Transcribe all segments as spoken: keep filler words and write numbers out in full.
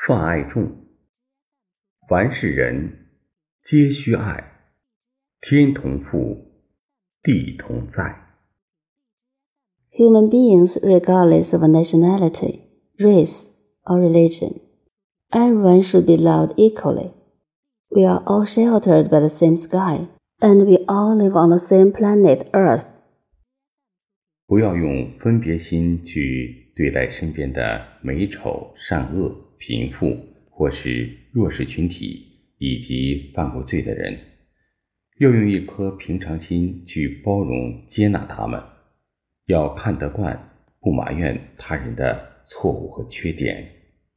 泛爱众，凡是人皆须爱，天同覆，地同在。 Human beings, regardless of nationality, race, or religion, everyone should be loved equally. We are all sheltered by the same sky, and we all live on the same planet Earth. 不要用分别心去对待身边的美丑、善恶、贫富或是弱势群体以及犯过罪的人，要用一颗平常心去包容接纳他们，要看得惯，不埋怨他人的错误和缺点。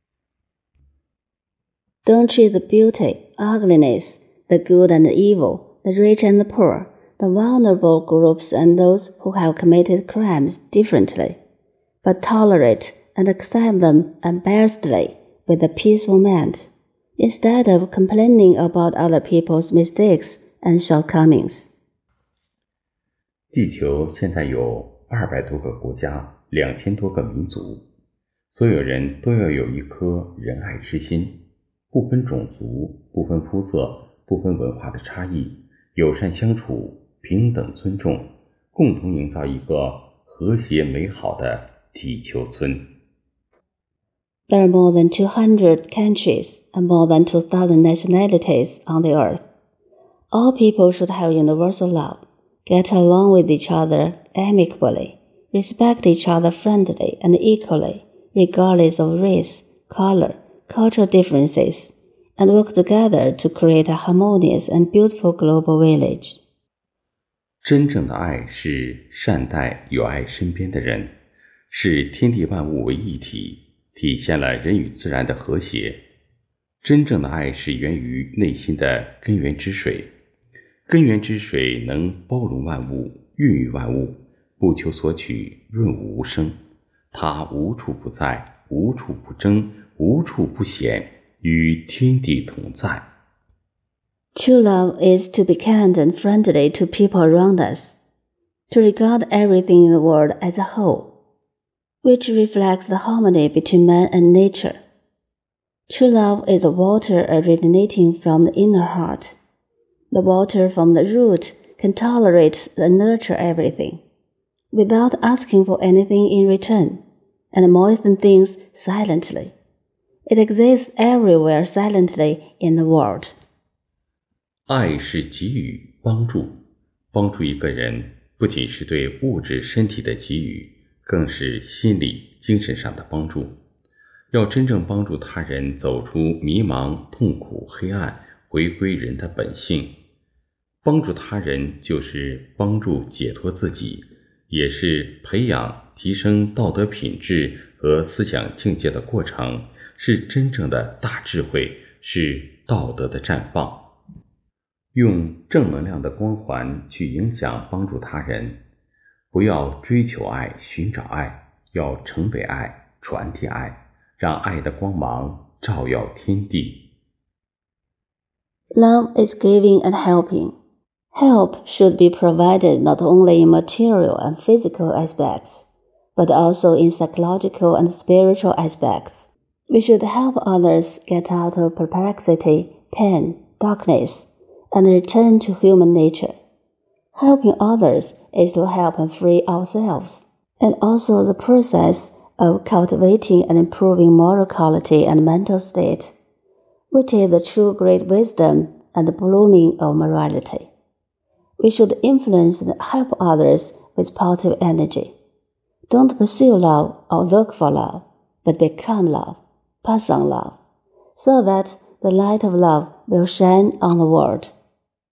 Don't treat the beauty, ugliness, the good and the evil, the rich and the poor, the vulnerable groups and those who have committed crimes differently, but tolerate and accept them unbiasedly with a peaceful mind, instead of complaining about other people's mistakes and shortcomings. 地球现在有二百多个国家，两千多个民族，所有人都要有一颗仁爱之心，不分种族，不分肤色，不分文化的差异，友善相处，平等尊重，共同营造一个和谐美好的地球村。 There are more than two hundred countries and more than two thousand nationalities on the earth. All people should have universal love, get along with each other amicably, respect each other friendly and equally, regardless of race, color, cultural differences, and work together to create a harmonious and beautiful global village. 真正的爱是善待有爱身边的人，视天地万物为一体，体现了人与自然的和谐。真正的爱是源于内心的根源之水，根源之水能包容万物，孕育万物，不求索取，润物无声。它无处不在，无处不争，无处不显，与天地同在。 True love is to be kind and friendly to people around us, to regard everything in the world as a whole, which reflects the harmony between man and nature. True love is the water originating from the inner heart. The water from the root can tolerate and nurture everything, without asking for anything in return, and moisten things silently. It exists everywhere silently in the world. 爱是给予帮助，帮助一个人不仅是对物质身体的给予，更是心理精神上的帮助。要真正帮助他人走出迷茫、痛苦、黑暗，回归人的本性。帮助他人就是帮助解脱自己，也是培养提升道德品质和思想境界的过程，是真正的大智慧，是道德的绽放。用正能量的光环去影响帮助他人，不要追求爱，寻找爱，要成为爱，传递爱，让爱的光芒照耀天地。 Love is giving and helping. Help should be provided not only in material and physical aspects, but also in psychological and spiritual aspects. We should help others get out of perplexity, pain, darkness, and return to human nature. Helping others is to help and free ourselves, and also the process of cultivating and improving moral quality and mental state, which is the true great wisdom and the blooming of morality. We should influence and help others with positive energy. Don't pursue love or look for love, but become love, pass on love, so that the light of love will shine on the world.